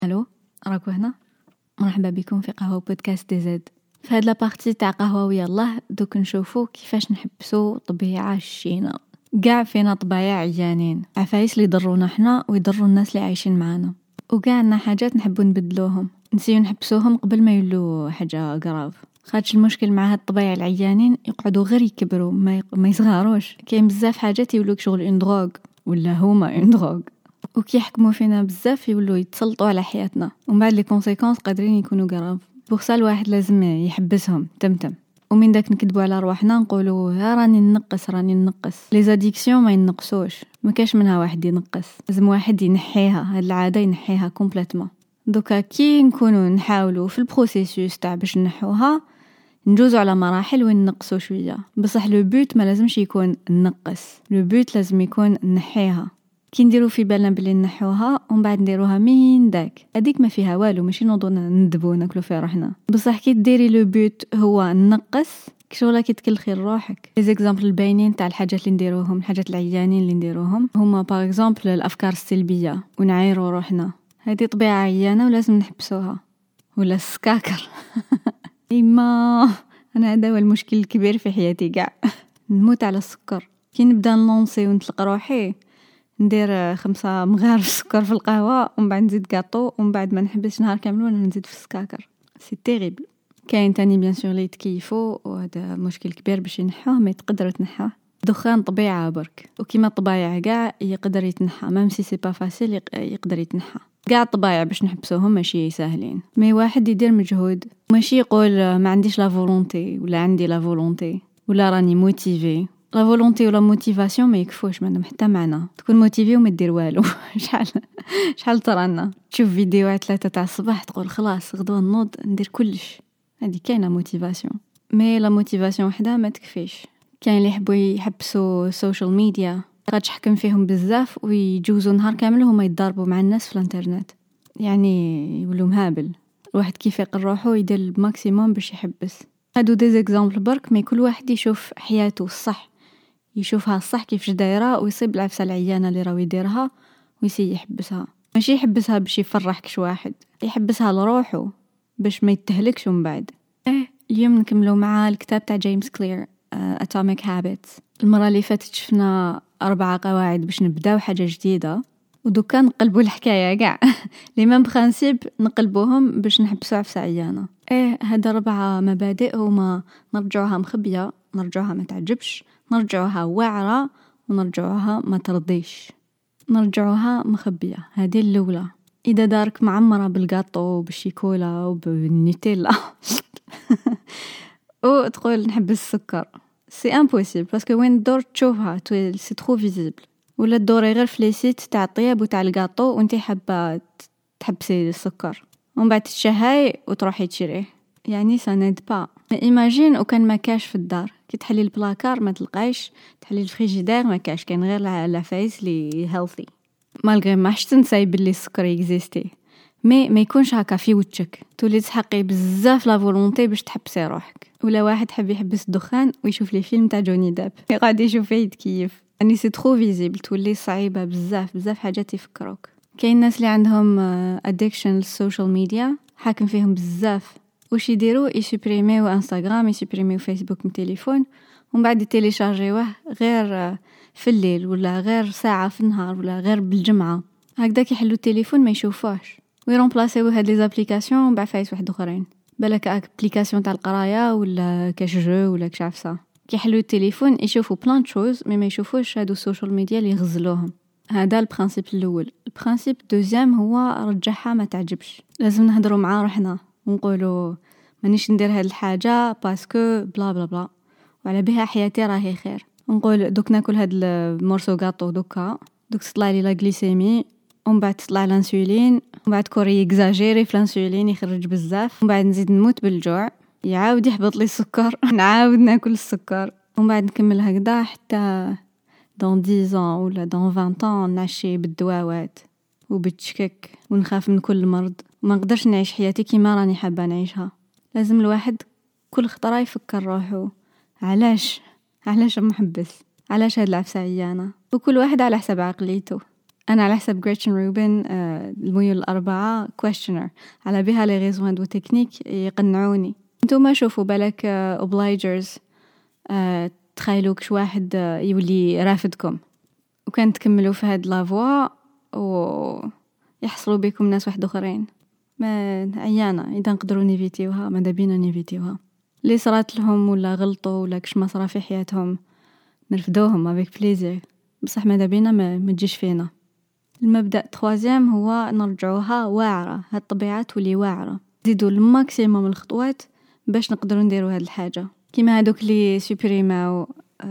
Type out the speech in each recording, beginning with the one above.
الو، راكو هنا. مرحبا بكم في قهوة بودكاست دي زد. في هاد لابارتي تاع قهوة ويا الله دوك نشوفو كيفاش نحبسو طبيعة الشينة. قاع فينا طبايع عيانين، عفايس اللي يضرونا حنا ويضروا الناس اللي عايشين معانا، وقاعنا حاجات نحبو نبدلوهم، نسيو نحبسوهم قبل ما يولو حاجة غراف. خاطش المشكل مع هاد الطبايع العيانين يقعدوا غير يكبروا ما يصغروش. كاين بزاف حاجات يولوك شغل اون دروغ ولا هما اون دروغ، وكي يحكموا فينا بزاف يولوا يتسلطوا على حياتنا، ومن بعد لي كونسيكونس قادرين يكونوا غراف. بوغسا الواحد لازم يحبسهم تمتم، ومن داك نكذبوا على رواحنا نقولوا ها راني ننقص. لي زاديكسيون ما ينقصوش، ما كاش منها واحد ينقص، لازم واحد ينحيها، هاد العاده ينحيها كومبليتوم. دوكا كي نكونوا نحاولوا في البروسيسوس تاع باش نحوها، نجوزوا على مراحل وين نقصوا شويه. بصح لو بوت ما لازمش يكون نقص، لو بوت لازم يكون نحيها. كي نديرو في بالنا بلي نحوها ومن بعد نديروها من داك، هذيك ما فيها والو، ماشي نوضو ندبو ناكلو في روحنا. بصح كي ديري لو بوت هو نقص، كشغله كي تكلخي روحك. لي زيكزامبل الباينين تاع الحاجات اللي نديروهم، الحاجات العيانين اللي نديروهم هما باغ اكزومبل الافكار السلبيه ونعايرو روحنا. هذه طبيعه عيانه ولازم نحبسوها. ولا السكاكر ايما انا هذا هو المشكل الكبير في حياتي كاع. نموت على السكر. كي نبدا نلونسي ونطلق روحي ندير 5 مغارف سكر في القهوه، ومن بعد نزيد كاطو، ومن بعد ما نحبسش نهار كامل وانا نزيد في السكاكر. سي تيريبل. كاين تاني بيان سور لي تكيفو، وهذا مشكل كبير باش ينحوه، ما تقدروا تنحوه. دخان طبيعه برك، وكيما الطبايع كاع يقدر يتنحى، ميم سي سي با فاسيل يقدر يتنحى. كاع الطبايع باش نحبسوهم ماشي ساهلين، مي واحد يدير مجهود، ماشي يقول ما عنديش لا فولونتي ولا عندي لا فولونتي ولا راني موتيفي. لا فولونتي ولا موتيفاسيون ما يكفوش، ما عندهم حتى معنى. تكون موتيفي وما دير والو. شحال ترانا تشوف فيديوهات 3 تاع الصباح تقول خلاص غدوه نوض ندير كلش، هذه كاينه موتيفاسيون. مي لا موتيفاسيون وحده ما تكفيش. كاين اللي يحبوا يحبسوا السوشيال ميديا، قد تحكم فيهم بزاف ويجوزوا نهار كامل هما يتضاربوا مع الناس في الانترنت، يعني يولوا مهابل. الواحد كيف يقر روحو يدير الماكسيموم باش يحبس. هادو دي زيكزامبل برك، مي كل واحد يشوف حياته الصح، يشوفها الصح كيفاش دايره، ويصيب العفسه العيانه اللي راهو يديرها ويسي يحبسها. ماشي يحبسها باش يفرحك واحد، يحبسها لروحه باش ما يتهلكش من بعد. اليوم نكملوا مع الكتاب تاع جيمس كلير Atomic Habits. المره اللي فاتت شفنا 4 قواعد باش نبداو حاجه جديده، ودوكا نقلبوا الحكايه كاع لي ميم برينسيپ نقلبوهم باش نحبسوا عفسه عيانه. هاد 4 مبادئ هما: نرجعوها مخبيه، نرجعوها ما تعجبش، نرجعوها واعره، ونرجعوها ما ترضيش. نرجعوها مخبيه، هذه الاولى. اذا دارك معمره بالغاطو وبالشيكولا وبالنيتيلا او تقول نحب السكر، سي امبوسيبل باسكو وين دور تشوفها سي ترو فيزيبل. ولا تدوري غير في لي سيت تاع الطياب وتاع الغاطو وانتي حابه تحبسي السكر، ومن بعد تشهاي وتروحي تشريه، يعني سا نيد با. ايماجين وكان ما كاش في الدار، كي تحلي البلاكار ما تلقايش، تحلي الفريجيدير ما كاش، كاين غير العفايس لي هيلثي. مالغري ما حش تنساي باللي السكر يكزيستي، ما يكونش هكا في وجهك، تولي تحقي بزاف لا فولونتي باش تحبسي روحك. ولا واحد حب يحبس الدخان ويشوف لي فيلم تاع جوني ديب يقعد يشوف فيه يتكيف، يعني سي ترو فيزيبل، تولي صعيبه بزاف حاجات يفكروك. كاين ناس اللي عندهم ادكشن للسوشيال ميديا، حاكم فيهم بزاف. واش يديروا؟ يسوبريميو انستغرام، يسوبريميو فيسبوك من التليفون، ومن بعد يتيليشارجيوه غير في الليل، ولا غير ساعه في النهار، ولا غير بالجمعه. هكذاك يحلوا التليفون ما يشوفوش، ويرمبلاسيو هاد لي زابليكاسيون بعفايس واحد اخرين، بالك ابليكاسيون تاع القرايه ولا كاش جو ولا كاش عفسه. كي يحلوا التليفون يشوفوا بلان شوز، ما يشوفوش هادو السوشيال ميديا اللي يغزلوهم. هذا البرانسيب الاول. البرانسيب دوزيام هو رجعها ما تعجبش. لازم نهضروا مع روحنا ونقولوا مانيش ندير هاد الحاجه باسكو بلا بلا بلا، وعلى بها حياتي راهي خير. نقول دوك ناكل هاد المورسو غاطو دوك تطلع لي لا غليسيمي، ومن بعد تطلع الانسولين، ومن بعد كوري اكزاجيري في الانسولين يخرج بزاف، ومن بعد نزيد نموت بالجوع، يعاود يحبط لي السكر نعاود ناكل السكر، ومن بعد نكمل هكذا حتى دون 10 ولا دون 20 نعشي بالدواوات وبالتشكك ونخاف من كل مرض، وما نقدرش نعيش حياتي كيما راني حابه نعيشها. لازم الواحد كل خطره يفكر روحو، علاش محبس، علاش هاد العفسه عيانه، وكل واحد على حسب عقليته. أنا على حسب غريتشن روبن الميول الأربعة questioner على بها لي ريزوان دو تكنيك يقنعوني. انتوما شوفوا بالك obligers تخيلوا كش واحد يولي رافدكم وكان تكملوا في هاد لافوا ويحصلوا بكم ناس واحد اخرين، ما عيانة اذا نقدروا نيفيتيوها ماذا بينا نيفيتيوها. اللي صرات لهم ولا غلطوا ولا كش ما صرا في حياتهم نرفدوهم افيك بليزير، بصح ماذا بينا ما تجيش فينا. المبدأ تخوازيام هو نرجعوها واعرة، هاد الطبيعة تولي واعرة، نزيدوا الماكسيموم الخطوات باش نقدروا نديروا هاد الحاجة. كيما هادوك اللي سوبريماو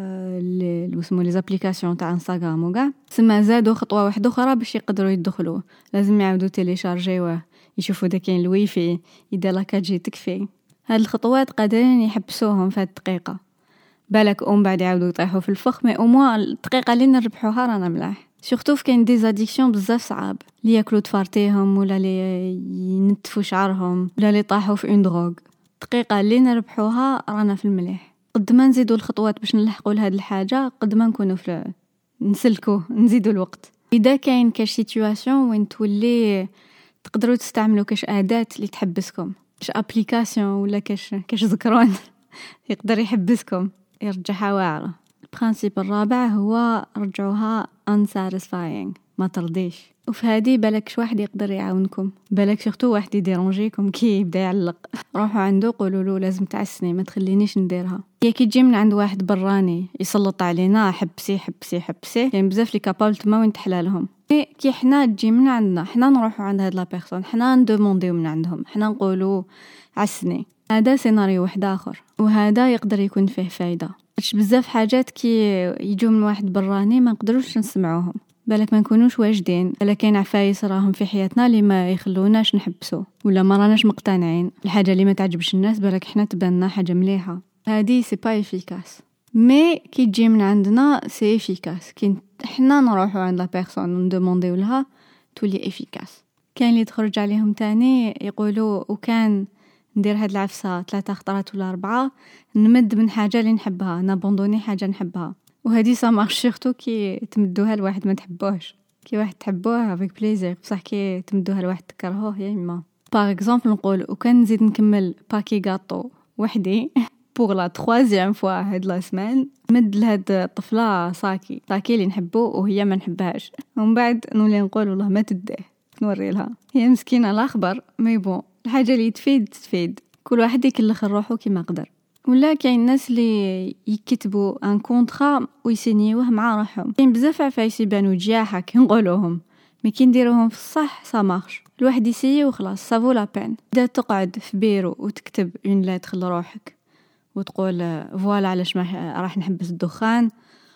اللي اسمو لي زابليكاسيون تاع انستغرام وكاع، سما زادوا خطوه واحده اخرى باش يقدروا يدخلوا، لازم يعاودوا تيليشارجيوه، يشوفوا دا كاين الويفي، يدير لاكاجي تكفي. هاد الخطوات قادرين يحبسوهم في هاد الدقيقه، بالك بعد يعاودوا يطيحوا في الفخ، مي او موان الدقيقه اللي نربحوها رانا ملاح. سورتو كاين دي زاديكسيون بزاف صعاب، اللي ياكلوا تفارتيهم ولا اللي ينتفوا شعرهم ولا اللي طاحوا في اون دروغ، الدقيقه اللي نربحوها رانا في المليح. قد ما نزيدوا الخطوات باش نلحقوا لهاد الحاجه قد ما نكونوا في نسلكوا نزيدوا الوقت. اذا كاين كاش سيتوياسيون وين تولي تقدروا تستعملوا كاش اداه اللي تحبسكم، كاش ابليكاسيون ولا كاش ذكرون يقدر يحبسكم، يرجعها واعره. البرانسيب الرابع هو رجعوها unsatisfying، ما ترضيش. وفي هذه بالك شي واحد يقدر يعاونكم، بالك سورتو واحد يديرونجيكم كي يبدا يعلق، روحوا عنده قولوا له لازم تعسني ما تخلينيش نديرها. هي كي تجي من عند واحد براني يسلط علينا حبسي حبسي حبسي، يعني بزاف لي كابابلت ما وين تحلالهم. كي حنا تجي من عندنا حنا نروحوا عند هاد لا بيرسون، حنا ندومونديو من عندهم، حنا نقولوا عسني، هذا سيناريو واحد اخر، وهذا يقدر يكون فيه فايده. بزاف حاجات كي يجوا من واحد براني ما نقدروش نسمعوهم، بالك ما نكونوش واجدين، الا كاين عفايس راهم في حياتنا اللي ما يخلوناش نحبسو ولا ما راناش مقتنعين الحاجه اللي ما تعجبش الناس، بالك احنا تبان حاجه مليحه، هذه سي با افيكاس. مي كي تجي من عندنا سي افيكاس، كي احنا نروحوا عند لا بيرسون وندومونديو لها تولي افيكاس. كاين اللي تخرج عليهم تاني يقولوا وكان ندير هاد العفسه 3 خطرات ولا 4 نمد من حاجه اللي نحبها، نابوندوني حاجه نحبها، وهذه سا مارش سورتو كي تمدوها لواحد ما تحبوهش. كي واحد تحبوه افيك بليزير، بصح كي تمدوها لواحد تكرهوه يا اما. باغ اكزومبل نقول وكان نزيد نكمل باكي غاطو وحدي بوغ لا 3 فوا هاد لا سمان، مد لهاد الطفله ساكي اللي نحبو وهي ما نحبهاش، ومن بعد نولي نقول والله ما تديه، نوري لها هي مسكينه الاخبر، مي بون الحاجه اللي تفيد كل واحد يكلخ روحو كيما قدر. ولا كاين الناس اللي يكتبوا ان كونطرا ويسينيوه مع روحهم، كاين بزاف عفايس يبانوا جياحه كي نقولوهم، مي كي نديروهم في الصح سا مارش، الواحد يسيي وخلاص سافو لا بين. اذا تقعد في بيرو وتكتب اون ليتر لروحك وتقول فوالا علاش ما راح نحبس الدخان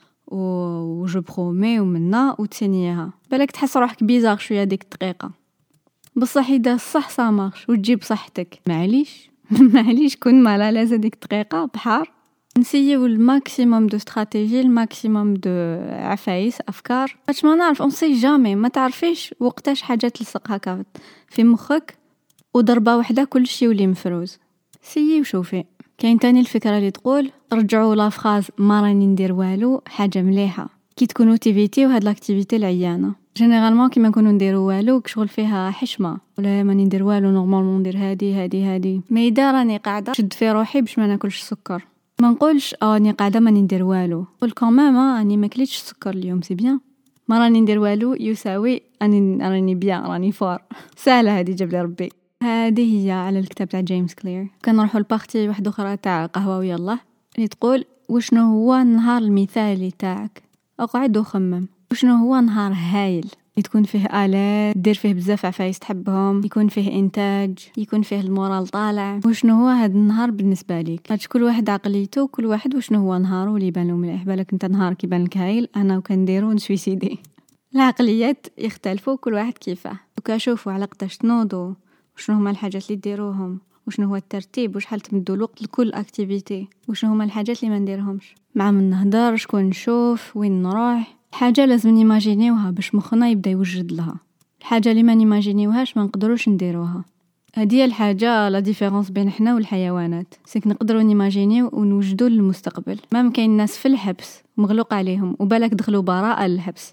وجو برومي ومنا وتسينيها، بالك تحس روحك بيزار شويه ديك الدقيقه، بصح اذا الصح سا مارش وتجيب صحتك معليش كون مالا لازم ديك دقيقه بحار نسيو الماكسيموم دو استراتيجي، الماكسيموم دو عفايس افكار، باش ما نعرف اون سي جامي، ما تعرفيش وقتاش حاجه تلصق هكا في مخك وضربه واحده كلشي يولي مفروز. سيي وشوفي. كاين تاني الفكره اللي تقول رجعوا لا فراز ما راني ندير والو، حاجه مليحه كي تكونوا تيفيتي وهاد لاكتيفيتي العيانه. جينيرالمون كيما نكونوا نديروا والو كشغل فيها حشمه، ولا ماني ندير والو نورمالمون ندير هادي مي اذا راني قاعده شد في روحي باش ما ناكلش السكر، ما نقولش راني قاعده ماني ندير والو، نقول كمان راني ما كليتش السكر اليوم سي بيان، ما راني ندير والو يساوي راني بيان راني فار. سهله هذه جاب لي ربي. هذه هي على الكتاب تاع جيمس كلير. كنروحوا لبارتي واحده اخرى تاع قهوه ويلا اللي تقول وشنو هو النهار المثالي تاعك، اقعد وخمم وشنو هو نهار هايل اللي تكون فيه آلات، دير فيه بزاف عفايس تحبهم، يكون فيه إنتاج، يكون فيه المورال طالع. وشنو هو هذا النهار بالنسبة ليك؟ هادش كل واحد عقليته، كل واحد وشنو هو نهاره اللي يبان له مليح. بالك انت نهارك يبان لك هايل، انا وكنديرو نسويسيدي. العقليات يختلفوا كل واحد كيفاه. وكاشوفوا على قداش تنوضوا، وشنو هما الحاجات اللي ديروهم، وشنو هو الترتيب، وشحال تمدوا الوقت لكل اكتيفيتي، وشنو هما الحاجات اللي ما نديرهمش. مع من نهضر شكون نشوف وين نروح، الحاجه لازم نيماجينيوها باش مخنا يبدا يوجد لها. الحاجه اللي ما نيماجينيوهاش ما نقدروش نديروها. هذه الحاجه لا ديفيرونس بين احنا والحيوانات، سيك نقدروا نيماجينيو ونوجدوا للمستقبل. ما كاين ناس في الحبس مغلوق عليهم وبالك دخلوا براءه للحبس،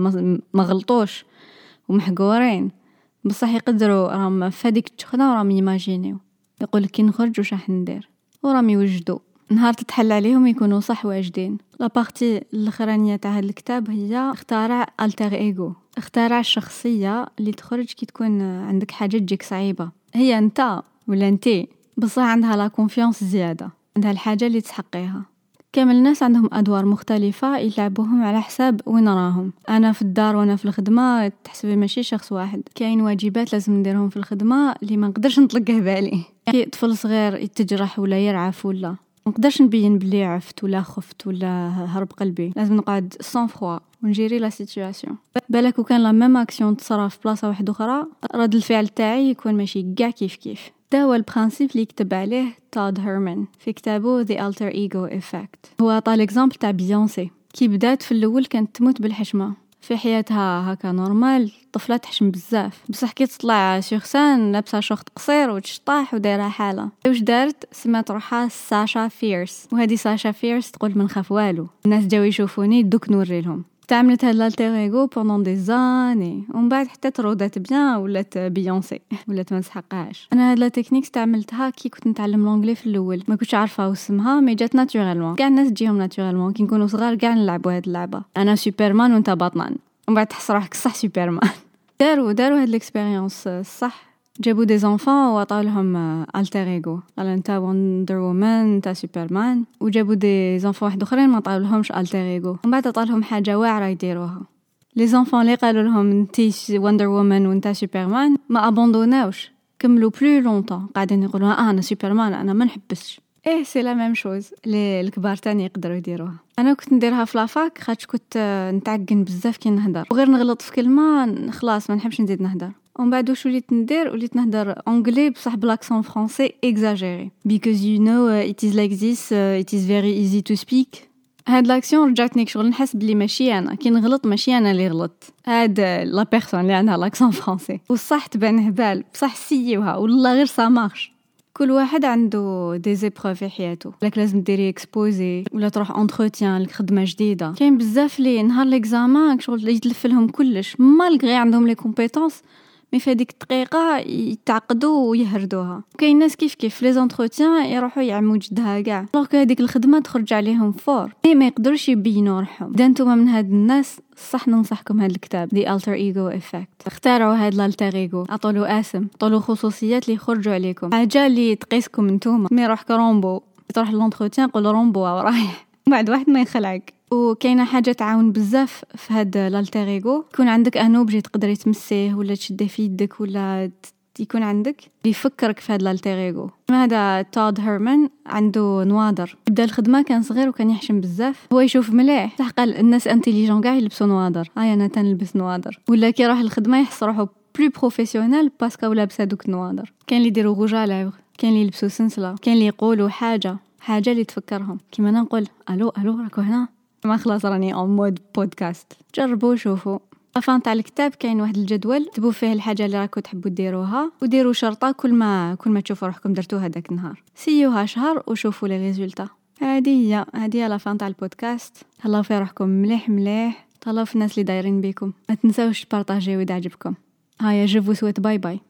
ما غلطوش ومحقورين، بصح يقدروا راهم في هذيك التخنه وراهم يماجينيو، يقول كي نخرج واش راح ندير، وراهم يوجدوا نهار تتحل عليهم يكونوا صح واجدين. لا بارتي الاخرانيه تاع هذا الكتاب هي اختراع التر ايجو، اختراع الشخصيه اللي تخرج كي تكون عندك حاجه تجيك صعيبه، هي انت ولا انتي، بصح عندها لا كونفيانس زياده، عندها الحاجه اللي تحقيها. كامل الناس عندهم ادوار مختلفه يلعبوهم على حساب وين راهم. انا في الدار وانا في الخدمه تحسبي ماشي شخص واحد، كاين واجبات لازم نديرهم في الخدمه اللي ما نقدرش نطلقه بالي. كي طفل صغير يتجرح ولا يرعف ولا ما نقدرش نبين بلي عفت ولا خفت ولا هرب قلبي، لازم نقعد سان فروا ونجيري لا سيتوياسيون. بالك وكان لا ميم اكسيون تصرا في بلاصه واحده اخرى، رد الفعل تاعي يكون ماشي كاع كيف. ده هو البرانسيب اللي كتب عليه تود هيرمان في كتابه The Alter Ego Effect. هو عطى الاكزامبل تاع بيونسي كي بدات في الاول كانت تموت بالحشمه في حياتها هكا نورمال، طفله تحشم بزاف، بصح كي تطلع سيغ سان لابسه شورت قصير وتشطاح ودايره حاله. واش دارت؟ سمات روحها ساشا فيرس، وهذه ساشا فيرس تقول ما نخاف والو، الناس جاو يشوفوني دوك نوري لهم. تعملت هاد الالتر ايغو بوندون دي زاني، ومن بعد حتى ترودات بيان ولات بيونسي، ولات ما تسحقهاش. انا هاد لا تكنيك استعملتها كي كنت نتعلم لونجلي في الاول، ما كنتش عارفه اسمها، مي جات ناتورالمون. كاع الناس تجيهم ناتورالمون كي نكونوا صغار، كاع نلعبوا هاد اللعبه، انا سوبرمان وانت باتمان، ومن بعد تحس روحك صح سوبرمان. داروا هاد الاكسبيريونس صح، جابوا دي زونفون وعطاو لهم التر ايغو، قال انت وندر وومن انت سوبرمان، وجابوا دي زونفون واحد اخرين ما عطاو لهمش التر ايغو، ومن بعد عطاو لهم حاجه واعره يديروها. لي زونفون اللي قالوا لهم انت وندر وومن وانت سوبرمان ما ابوندوناوش، كملوا بلو لونطون قاعدين يقولوا انا سوبرمان انا ما نحبسش. سي لا ميم شوز اللي الكبار تاني يقدروا يديروها. انا كنت نديرها في لافاك خاطش كنت نتعجن بزاف كي نهضر، وغير نغلط في كلمه خلاص ما نحبش نزيد نهضر. ومن بعد واش وليت ندير؟ وليت نهضر انجلي بصح بالاكسون فرونسي اكزاجيري because you know it is like this it is very easy to speak. هاد لاكسيون رجعتني شغل نحس بلي ماشي انا كي نغلط، ماشي انا اللي غلط، هاد لا بيرسون اللي عندها لاكسون فرونسي. وصح تبان هبال بصح سيوها والله غير سا مارش. كل واحد عنده دي زيبروف في حياته، لك لازم ديري اكسبوزي ولا تروح انتروتيان لخدمه جديده. كاين بزاف لي نهار ليكزامان شغل يتلف لهم كلش مالغري عندهم لي كومبيتونس، مي في هذيك الدقيقه يتعقدوا ويهردوها. كاين ناس كيف لي زونتروتيان يروحوا يعموا جدها كاع، لو هذيك الخدمه تخرج عليهم فور، ما يقدروش يبينوا روحهم. اذا نتوما من هاد الناس صح ننصحكم هذا الكتاب The Alter Ego Effect. اختاروا هذا الالتر ايغو، عطولو اسم، عطولو خصوصيات اللي يخرجوا عليكم، حاجه اللي تقيسكم نتوما. مي روحك رومبو تروح للانتروتيان قول رومبو رايح، بعد واحد ما يخلعك. وكاينه حاجه تعاون بزاف في هذا الالتر ايغو، يكون عندك ان اوبجي تقدري تمسيه ولا تشديه في يدك، ولا يكون عندك بيفكرك في هذا الالتر ايغو. هذا تود هيرمان عنده نوادر، بدا الخدمه كان صغير وكان يحشم بزاف، هو يشوف مليح صح، قال الناس انتيليجون كاع يلبسوا نوادر، انا تنلبس نوادر. ولا كي راح الخدمه يحس روحو بلو بروفيسيونيل باسكو لابس هذوك النوادر. كاين اللي يديروا غوجا لافغ، كاين اللي يلبسوا سنسله، كاين اللي يقولوا حاجه اللي تفكرهم. كيما انا نقول الو راكو هنا، ما خلاص راني اون مود بودكاست. جربوا شوفوا. افان تاع الكتاب كاين واحد الجدول تكتبوا فيه الحاجه اللي راكم تحبوا ديروها، وديروا شرطه كل ما تشوفوا روحكم درتوها داك النهار، سيوها شهر وشوفوا لي ريزولطا. هذه هي لافان تاع البودكاست. تهلاو في روحكم مليح، تهلاو في الناس اللي دايرين بكم، ما تنساوش تبارطاجيو اذا عجبكم. هيا جو فو سويت باي باي.